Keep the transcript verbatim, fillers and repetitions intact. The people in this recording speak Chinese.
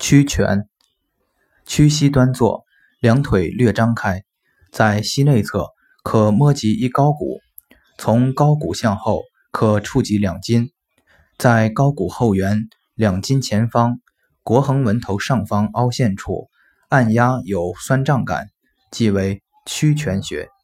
屈拳，屈膝端坐，两腿略张开，在膝内侧可摸及一槁骨，从槁骨向后可触及两筋，在槁骨后缘两筋前方腘横纹头上方凹陷处按压有酸胀感，即为屈拳穴。